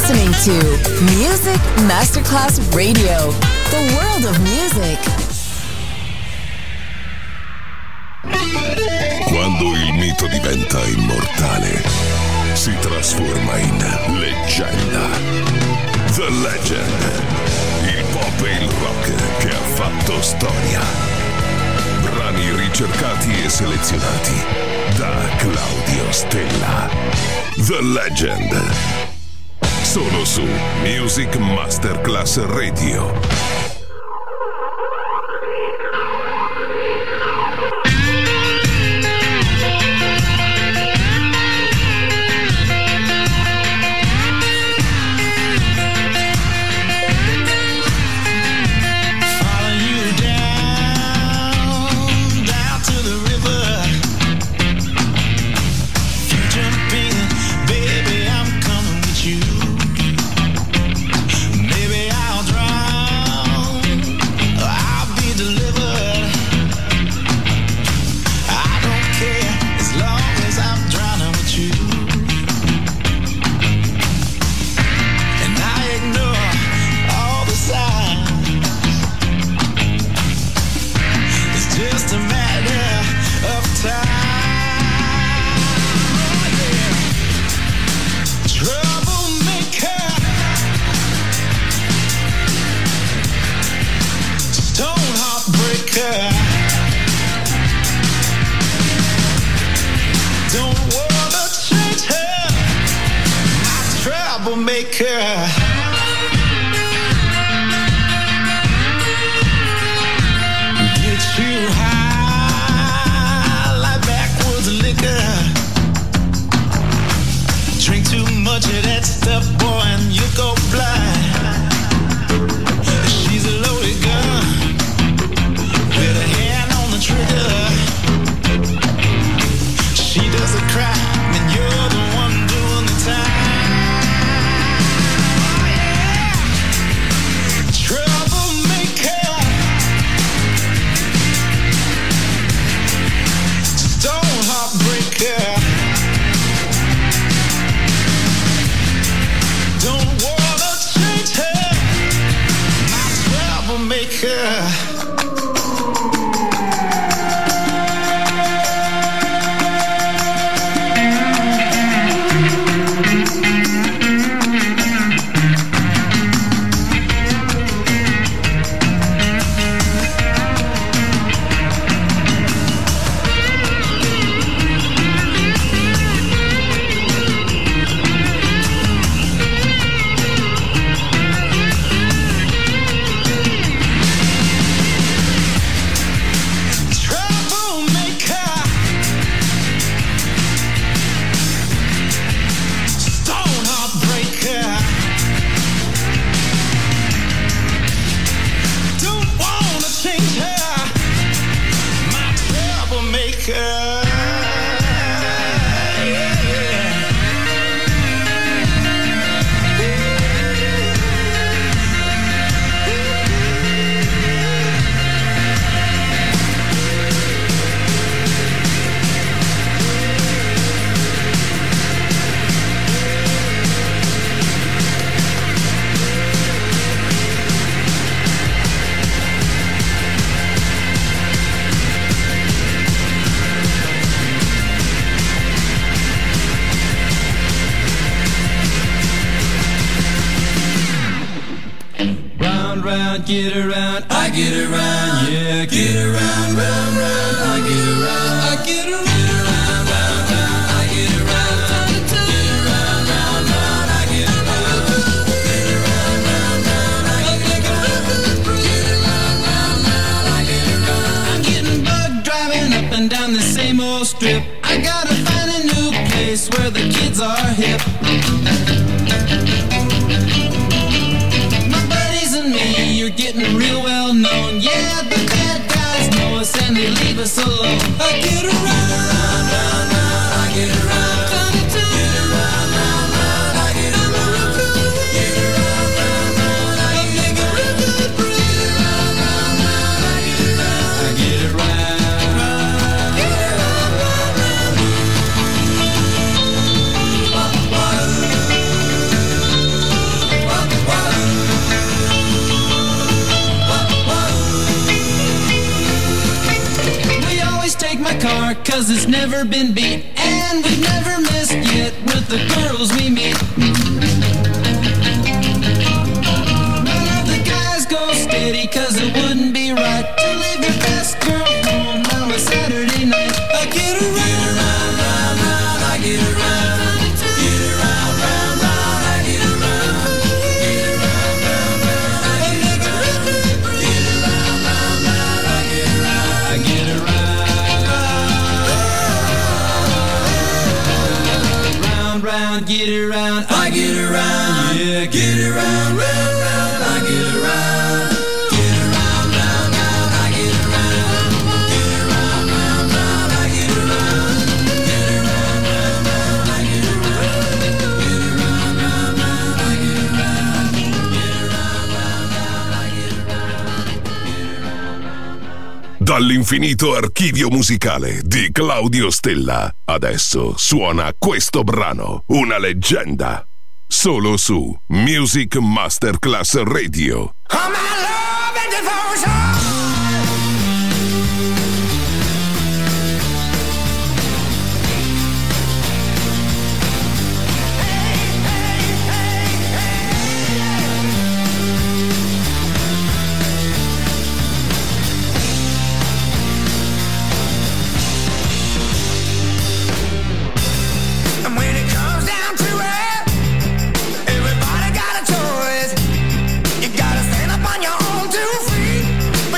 listening to Music Masterclass Radio, the world of music. Quando il mito diventa immortale, si trasforma in leggenda. The Legend, il pop e il rock che ha fatto storia. Brani ricercati e selezionati da Claudio Stella. The Legend. Solo su Music Masterclass Radio. Get around, I get around, yeah, get around, round, round, I get around, I get around, round, round, round, I get around, get around, round, round, I get around, get around, round, round, I get around, get around, round, round, I get around. I'm getting bugged driving up and down the same old strip. I gotta find a new place where the kids are hip. You're getting real well known. Yeah, the bad guys know us and they leave us alone. I get around, round, round, round, I get around, get around, round, round, I get around, get around, round, round, I get around, get around, round, round, I get around, I get around, get around, round, round. 'cause it's never been beat, and we've never missed yet with the girls we meet. None of the guys go steady, 'cause it wouldn't be right to leave your best girl home on a Saturday night. I get around, round, round, round, I get around. Get around, round, round, I get around. Get around, round, round, I get around. Get around, round, round, I get around. I get around. Round, round, get around. I get around. Yeah, get around, round, round, I get around. Get around, round, round, I get around. Get around, round, round, I get around. Get around, round, round, I get around. Get around, round, round, I get around. Get around, round, round, I get around. Dall'infinito archivio musicale di Claudio Stella, adesso suona questo brano, una leggenda, solo su Music Masterclass Radio. All my love and devotion. And when it comes down to it, everybody got a choice. You gotta stand up on your own 2 feet.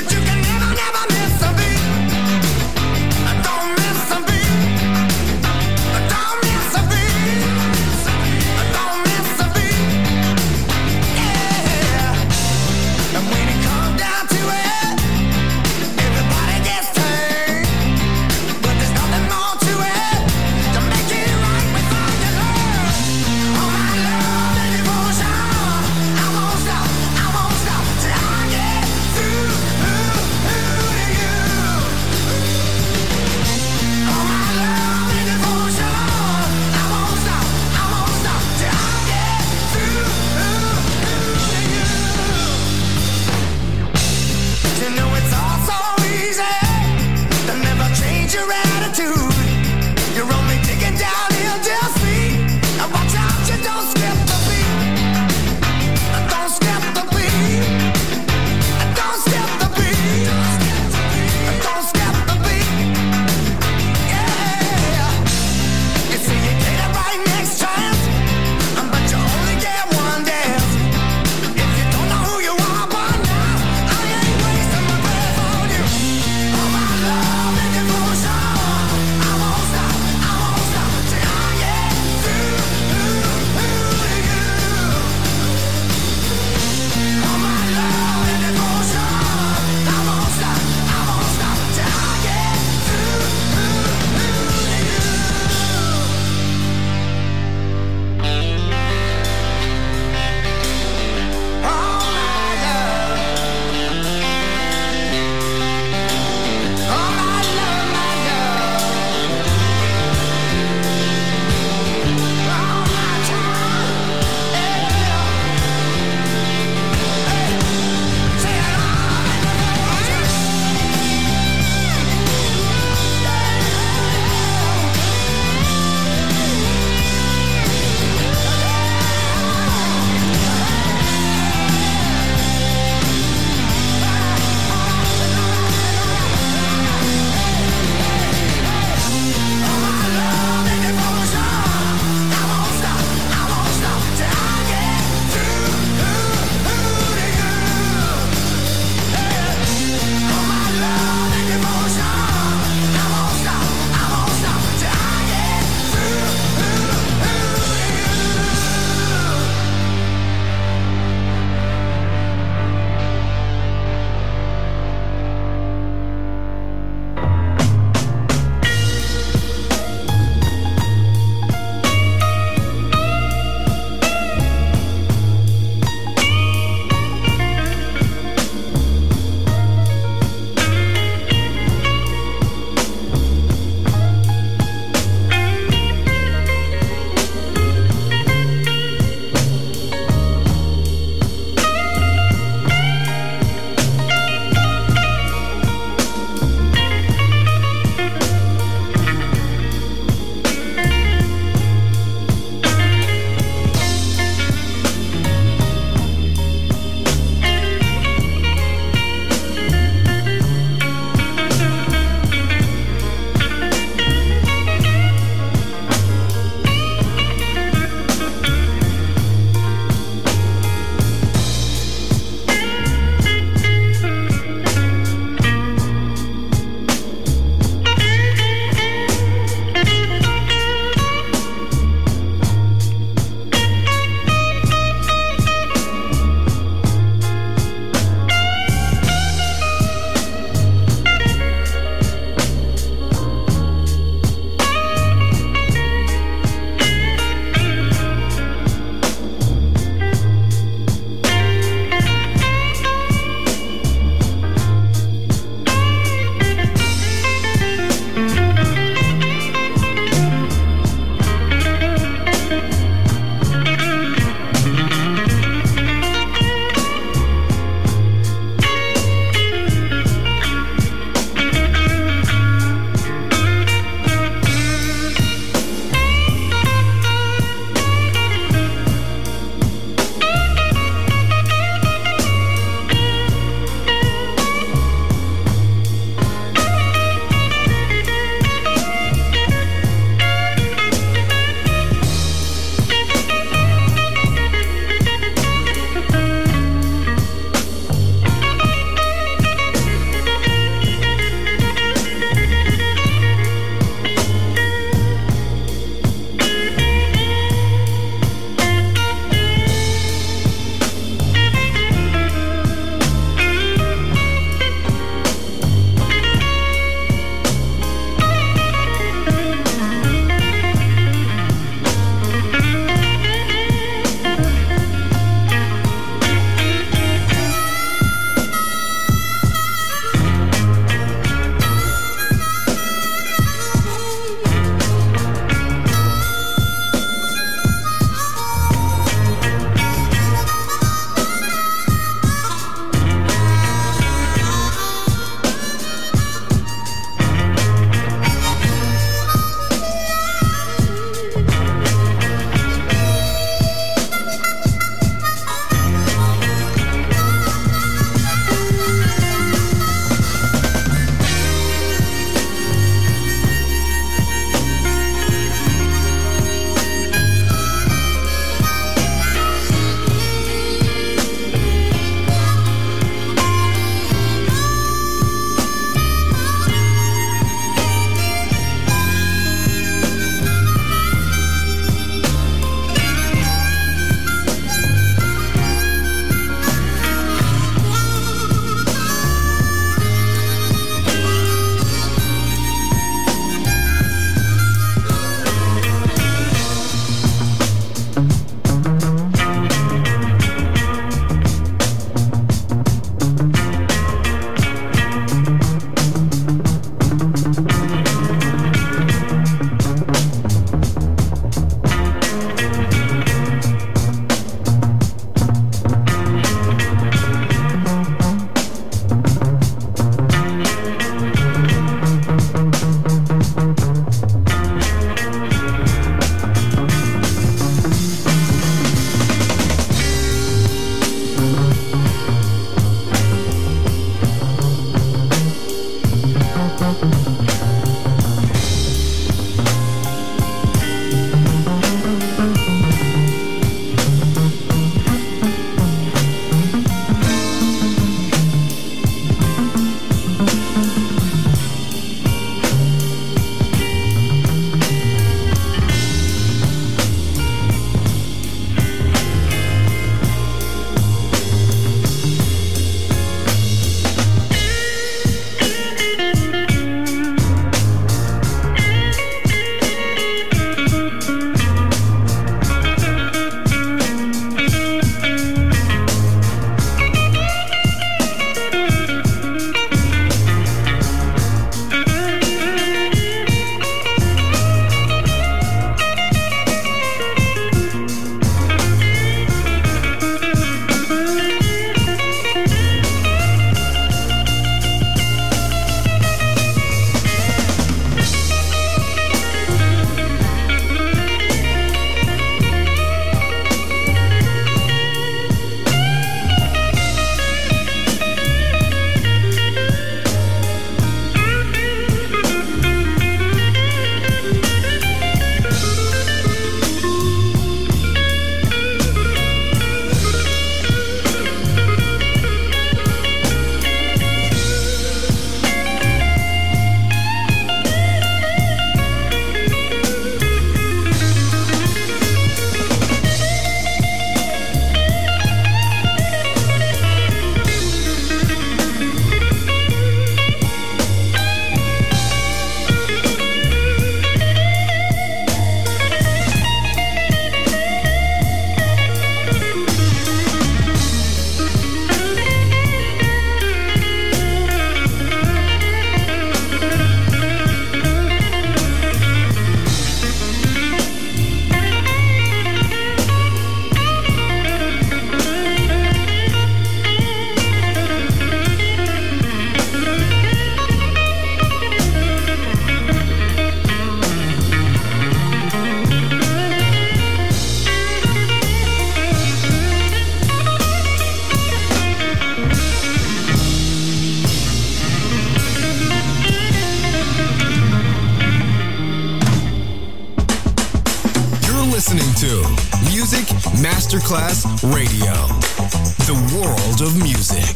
Masterclass Radio, the world of music.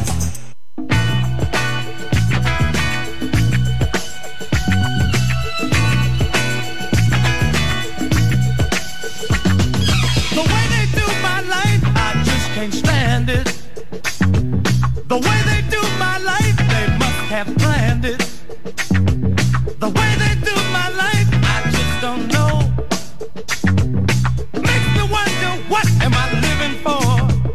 The way they do my life, I just can't stand it. The way they do my life, they must have planned it. The way they do my life, I just don't know. Makes me wonder, what am I living for?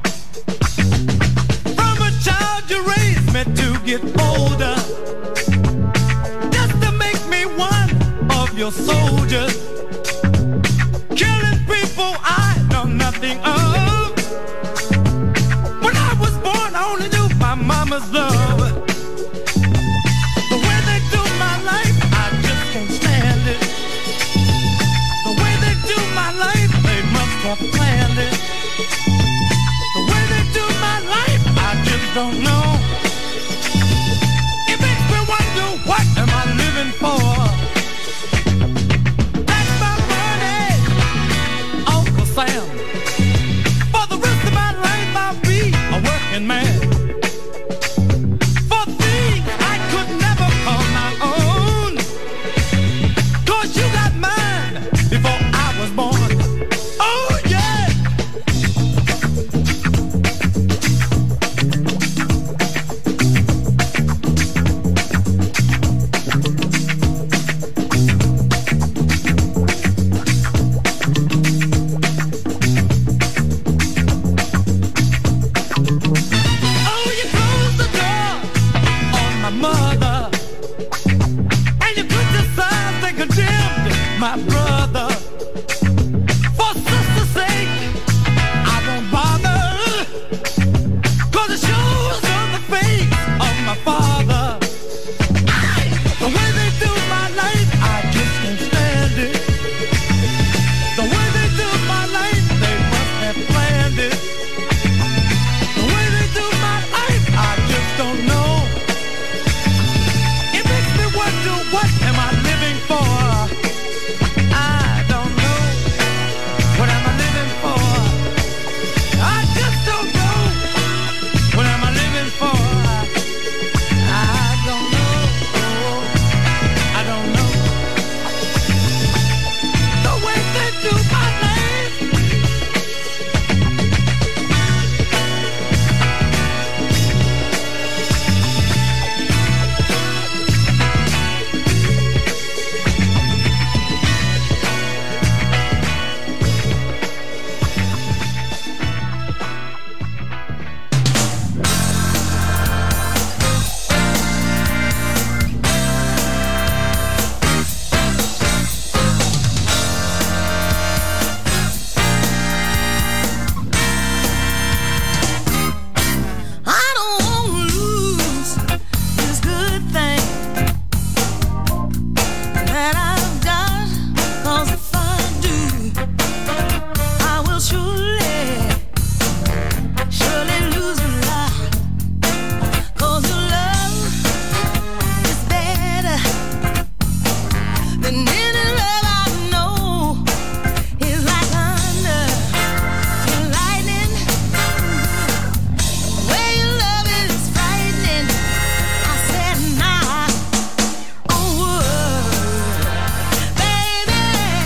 From a child you raised me to get older, just to make me one of your soldiers. Killing people I know nothing of. When I was born, I only knew my mama's love. The way they do my life, I just can't stand it. The way they do my life, they must have planned it. The way they do my life, I just don't know. It makes me wonder, what am I living for? That's my money, Uncle Sam. For the rest of my life, I'll be a working man. For things I could never call my own. 'Cause you got mine before I was born. Oh yeah. Oh, you closed the door on my mother, and you criticized and condemned my brother. For sister's sake, I won't bother, 'cause it shows on the face of my father. The way they do my life, I just can't stand it. The way they do my life, they must have planned it. The way they do my life, I just don't know. It makes me wonder, what am I living for? I don't know. What am I living for? I just don't know. What am I living for? I don't know. I don't know. The way they do my life. I don't want to lose this good thing that I've got, 'cause if I do, I will surely lose a lot. 'Cause your love is better than any love I know. It's like thunder and lightning. The way you love it is frightening. I said, nah, oh, baby.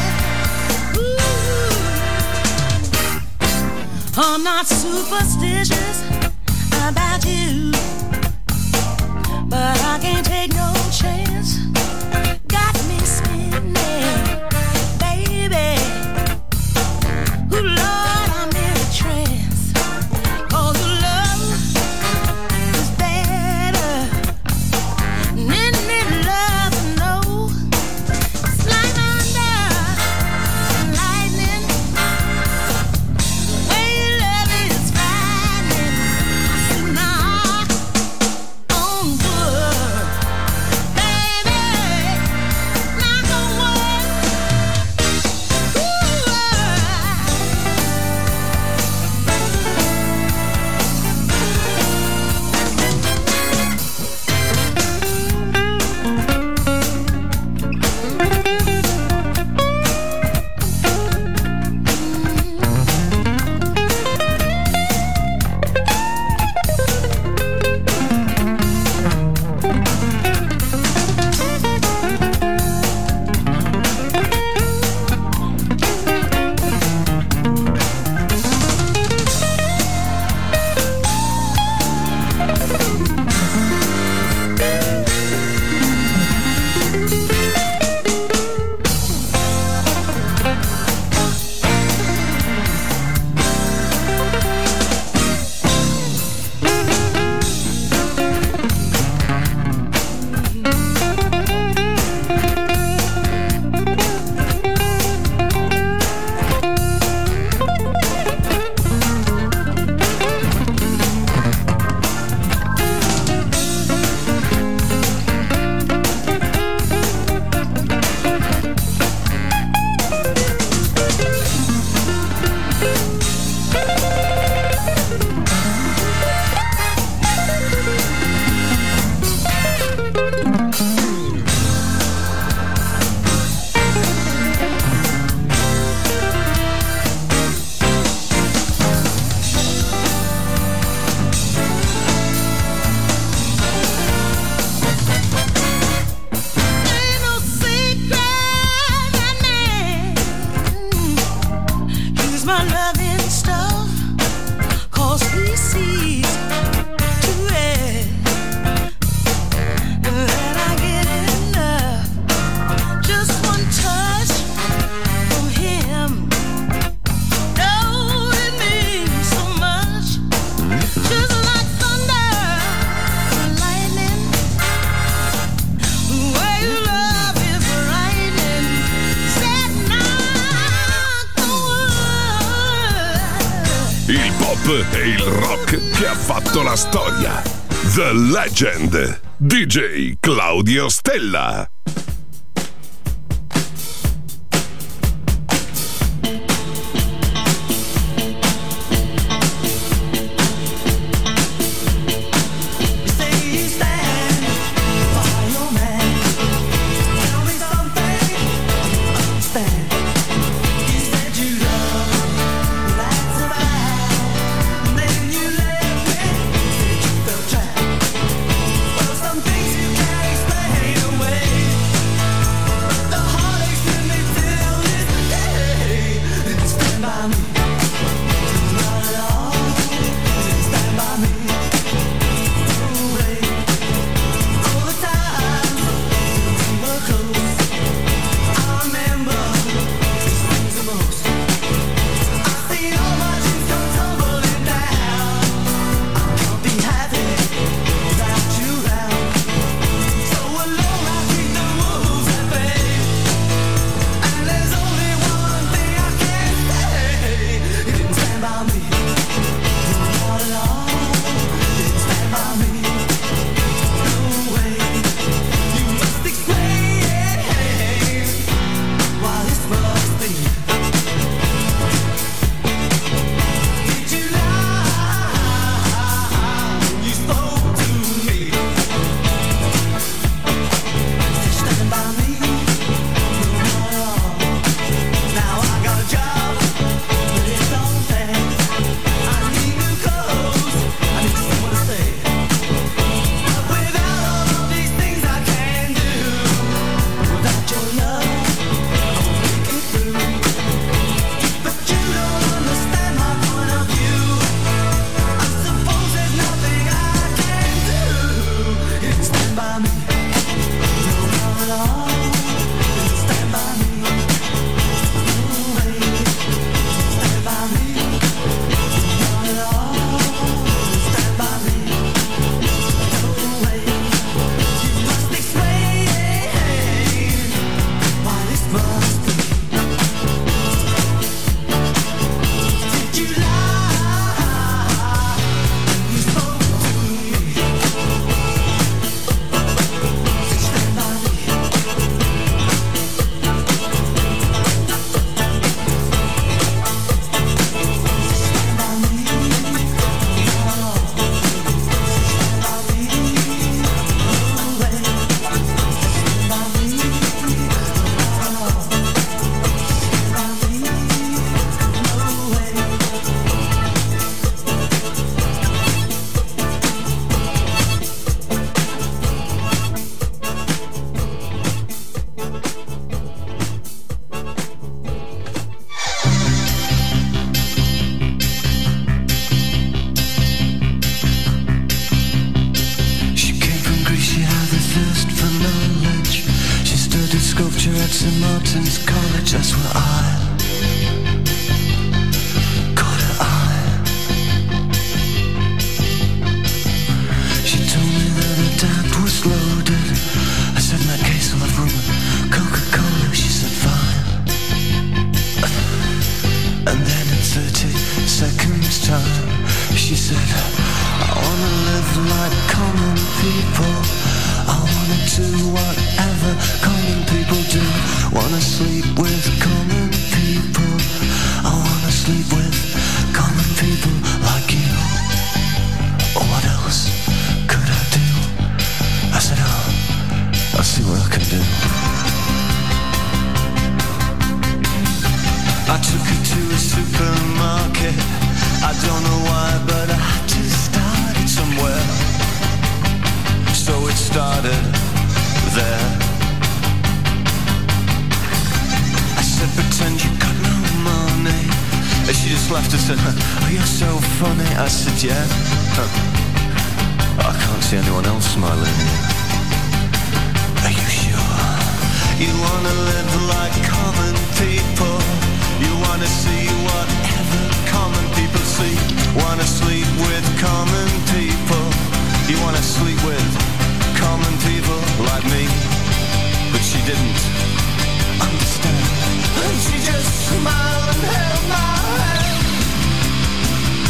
Ooh. I'm not superstitious about you, but I can't take no chance. Got me spinning, baby. Ooh, Lord, I'm in a trance. 'Cause your love is better than any love I know. It's like thunder and lightning. The way you love it is frightening. I said, nah, oh, good, baby. il pop e il rock che ha fatto la storia. The Legend, DJ Claudio Stella. St. Martin's College, that's where I caught her eye. She told me that her dad was loaded. I said, in that case I'll have rum and Coca-Cola. She said, fine. And then in 30 seconds time, she said, I wanna live like common people. I wanna do whatever common people do. Wanna sleep with common people. I wanna sleep with common people like you. Oh, what else could I do? I said, oh, I'll see what I can do. I took her to a supermarket. I don't know why, but I had to start it somewhere. So it started there. I said, pretend you got no money. And she just laughed and said, oh, you're so funny. I said, yeah. I can't see anyone else smiling. Are you sure? You wanna live like common people. You wanna see whatever common people see. Wanna sleep with common people. You wanna sleep with common people like me. But she didn't understand. And she just smiled and held my hand.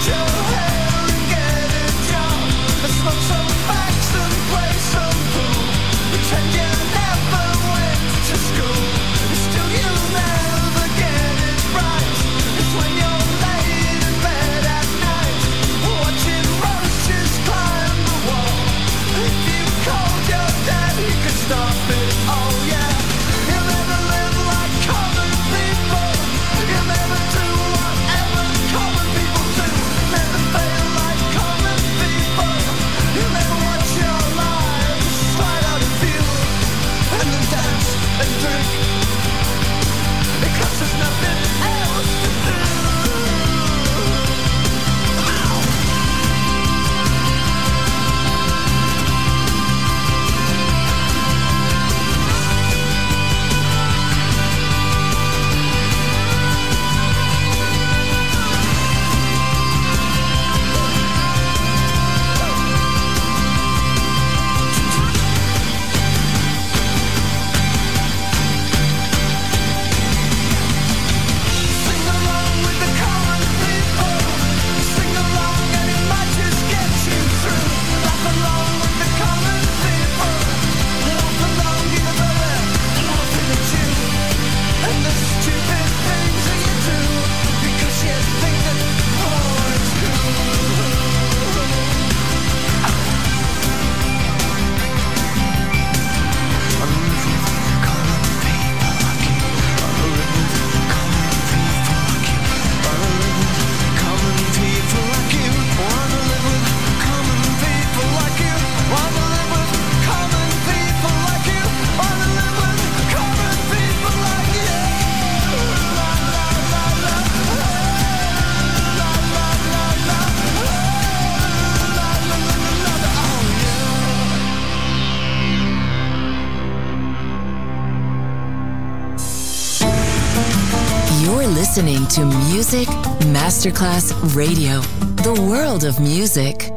listening to Music Masterclass Radio, the world of music.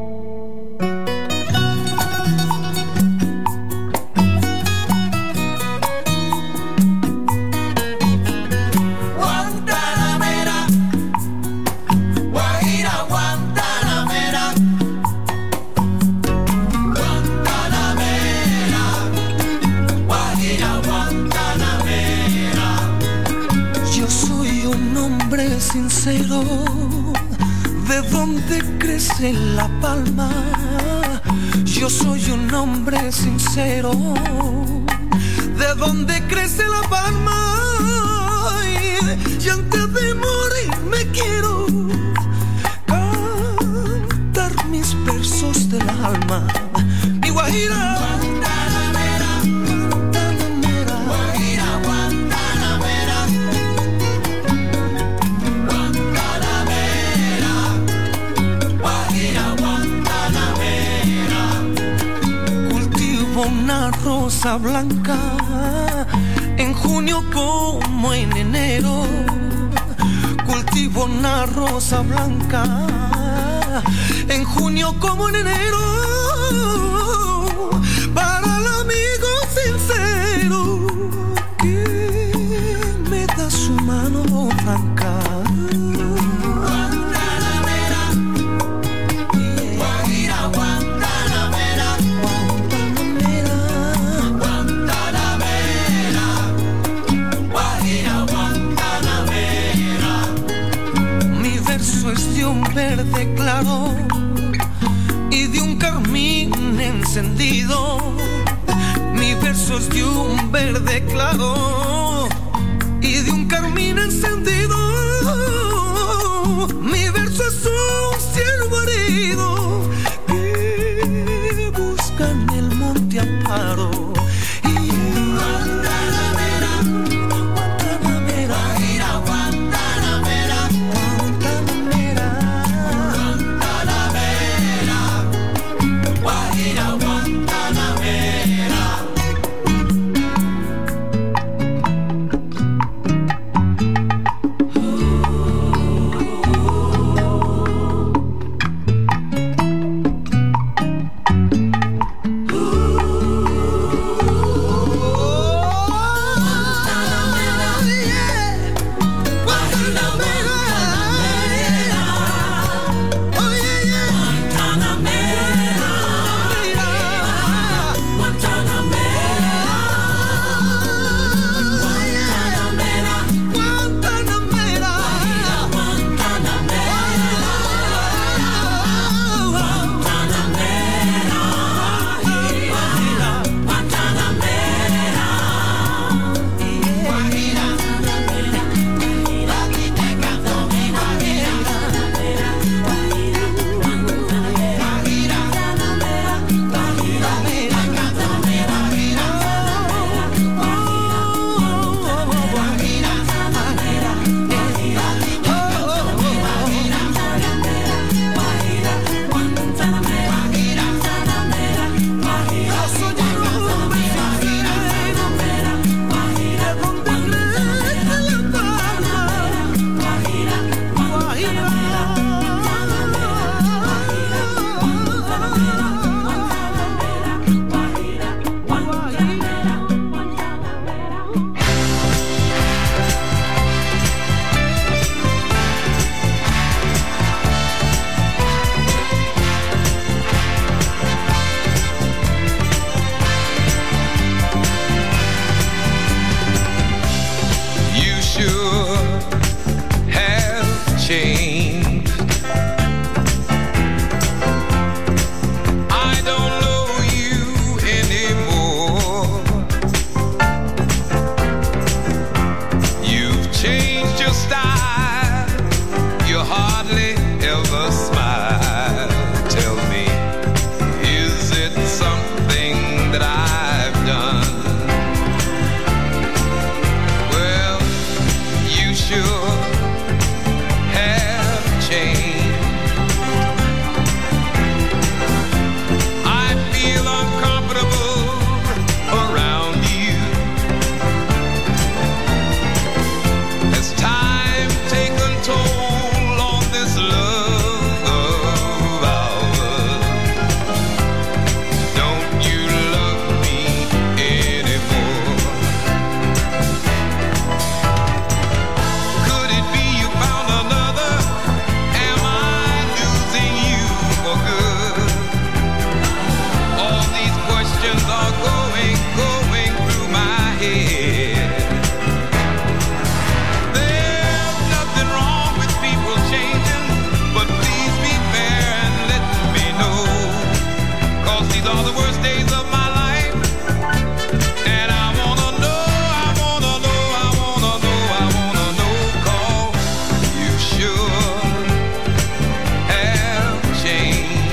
Sincero, ¿de dónde crece la palma? Yo soy un hombre sincero, ¿de dónde crece la palma? Y antes de morir me quiero cantar mis versos del alma. Mi Guajira. Una rosa blanca en junio como en enero. Cultivo una rosa blanca en junio como en enero. Para el amigo sincero que me da su mano franca. Verde claro y de un carmín encendido. Mi verso es de un verde claro y de un carmín encendido. Mi verso es un ciervo herido que busca en el monte amparo. sure have changed. I don't know you anymore. You've changed your style. You hardly ever smile. Tell me, is it something that I've done? Well, you sure have changed. I feel uncomfortable around you. As time taken toll on this love of ours, don't you love me anymore? Could it be you found another? Am I losing you for good? All these questions are going through my head. There's nothing wrong with people changing, but please be fair and let me know. 'Cause these are the worst days of my life. And I wanna know, I wanna know, I wanna know, I wanna know. 'Cause you sure have changed.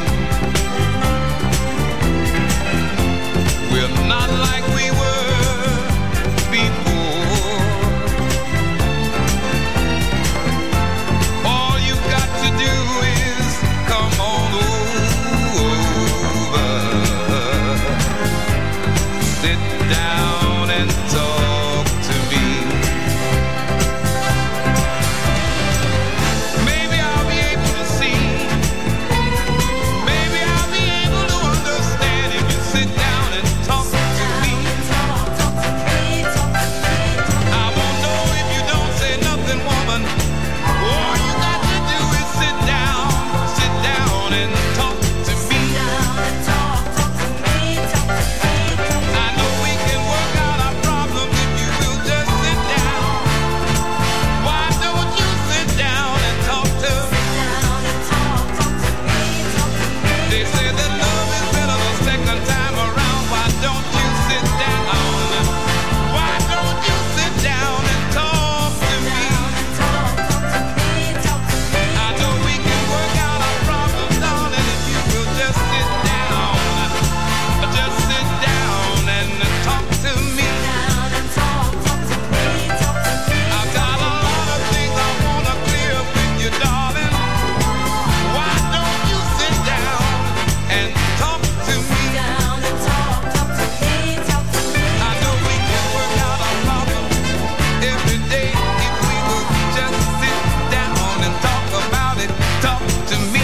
We're not like we were before. All you've got to do is come on over. Sit down and talk to me. Maybe I'll be able to see. Maybe I'll be able to understand if you sit down and talk to me. I won't know if you don't say nothing, woman. All you got to do is sit down and talk to me. I know we can work out our problems if you will just sit down. Why don't you sit down and talk to me? They say that love is better the second time around. Why don't you sit down? Why don't you sit down and talk to me? I know we can work out our problems, darling, if you will just sit down. Just sit down and talk to me. I've got a lot of things I wanna clear up with you, darling. Why don't you sit down and talk to me? I know we can work out our problems every day if we will just sit down and talk about it. Talk to me.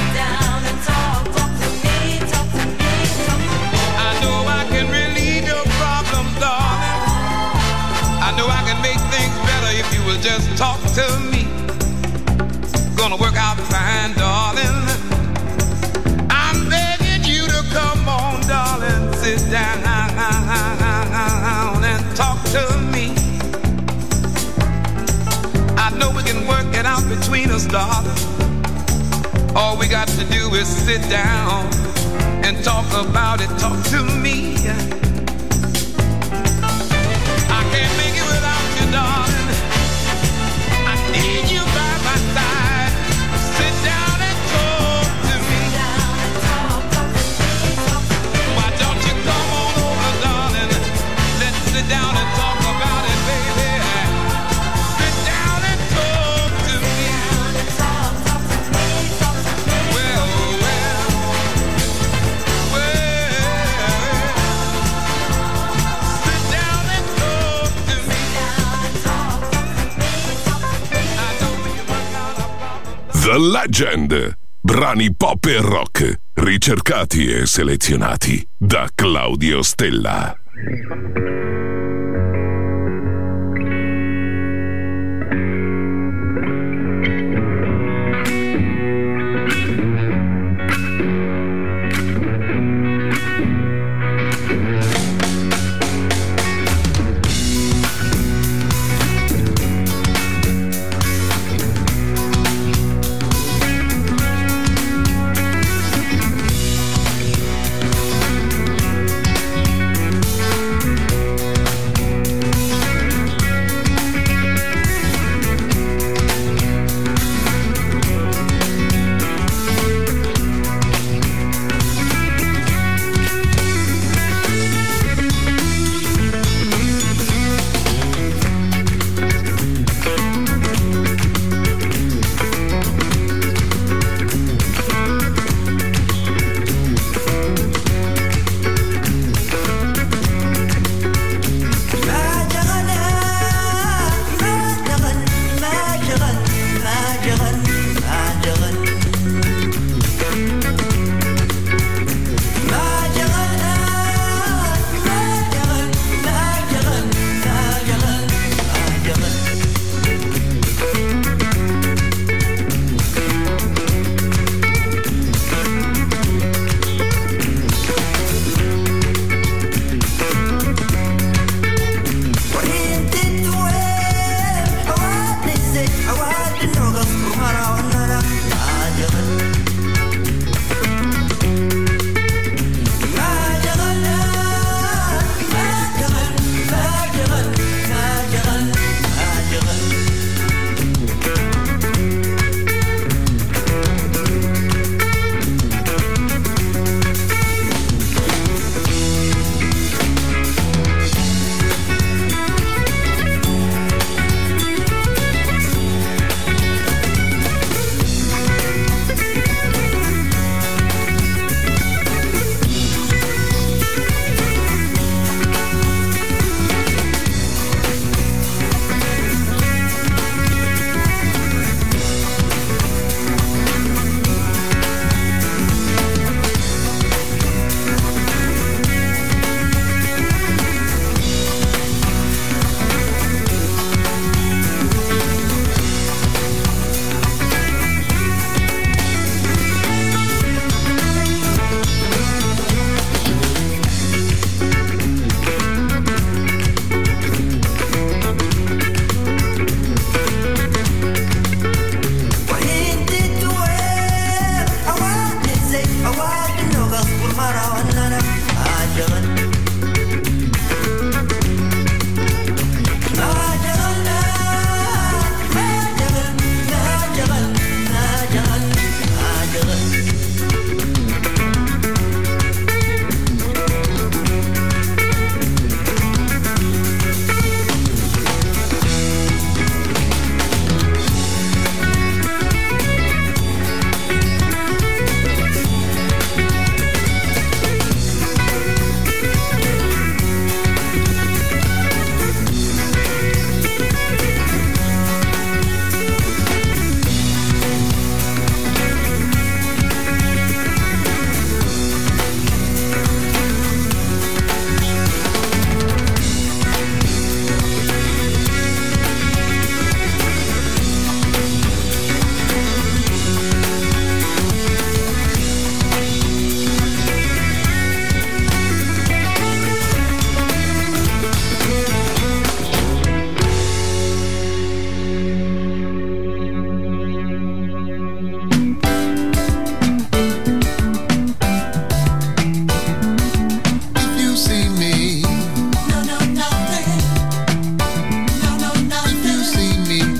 I know I can relieve your problems, darling. I know I can make things better if you will just talk to me. Gonna work out fine, darling. I'm begging you to come on, darling. Sit down and talk to me. I know we can work it out between us, darling. All we got to do is sit down and talk about it. Talk to me. I can't make it without you, darling. I need you by my side. Sit down and talk to me. Why don't you come on over, darling? Let's sit down and talk about it, baby. Sit down and talk to me. Well, sit down and talk to me. I know we can work out our problems. The Legend. Brani pop e rock, ricercati e selezionati da Claudio Stella.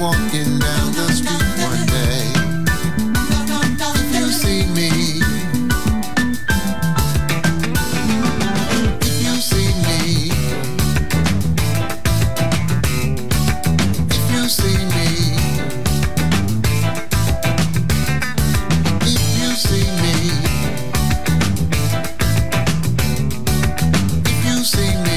walking down the street one day. If you see me, if you see me, if you see me, if you see me, if you see me.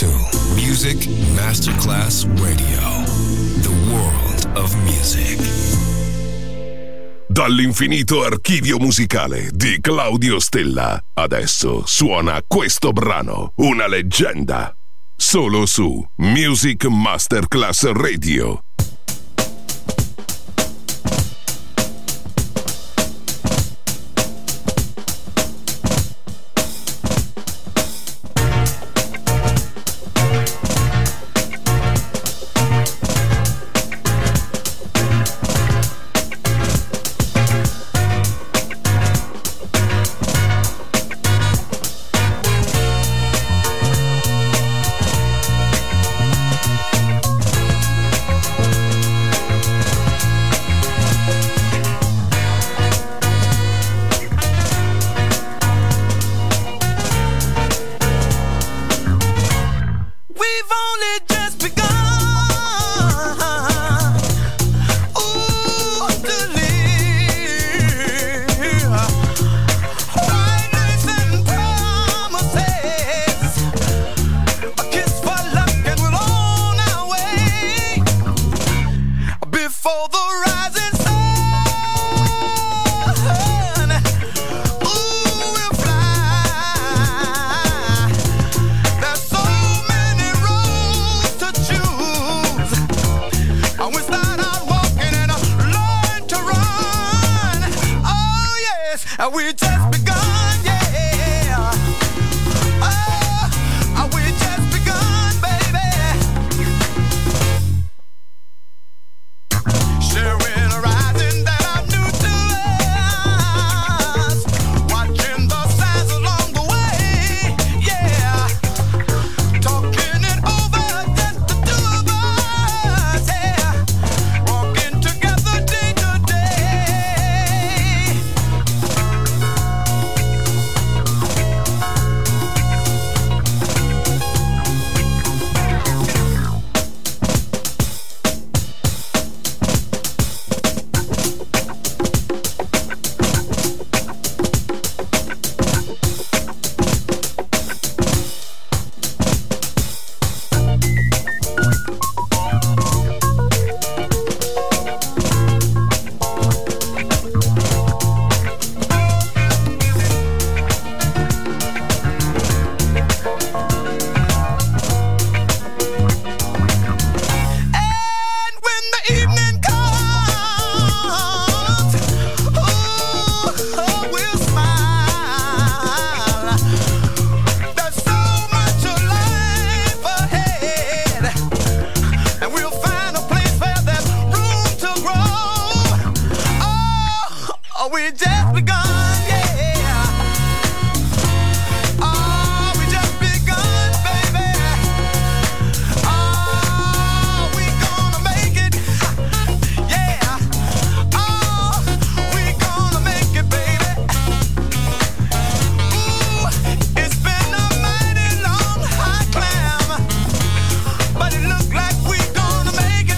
to Music Masterclass Radio, the world of music. Dall'infinito archivio musicale di Claudio Stella, adesso suona questo brano, una leggenda, solo su Music Masterclass Radio.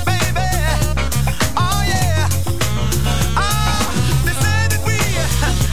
They said that we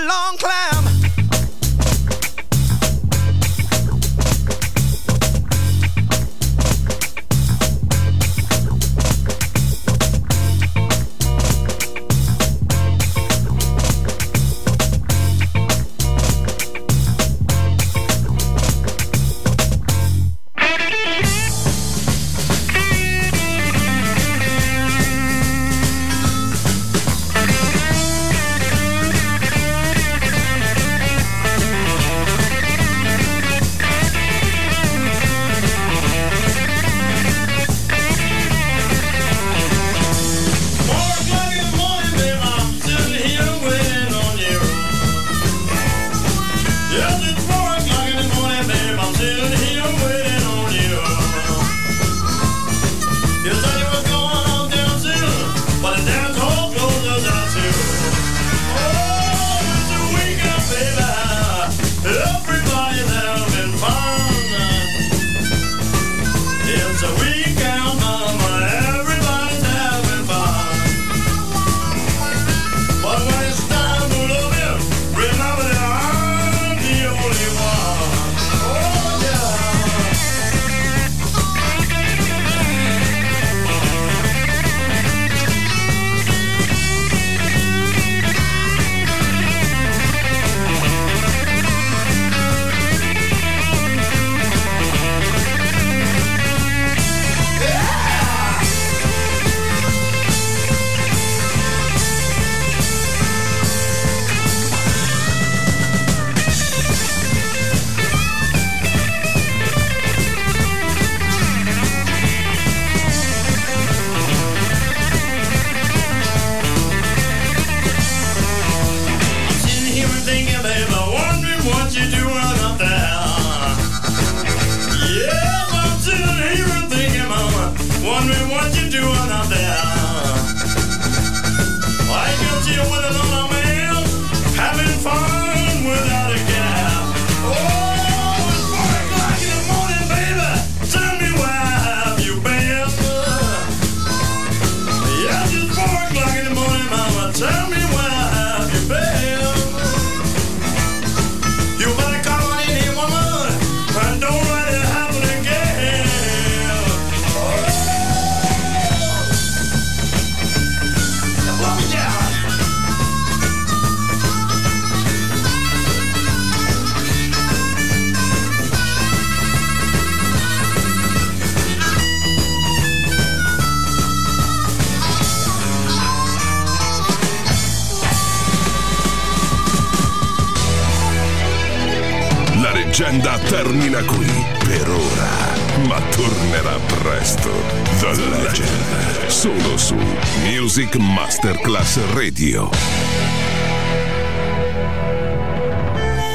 long climb. La leggenda termina qui per ora, ma tornerà presto. The Legend, solo su Music Masterclass Radio.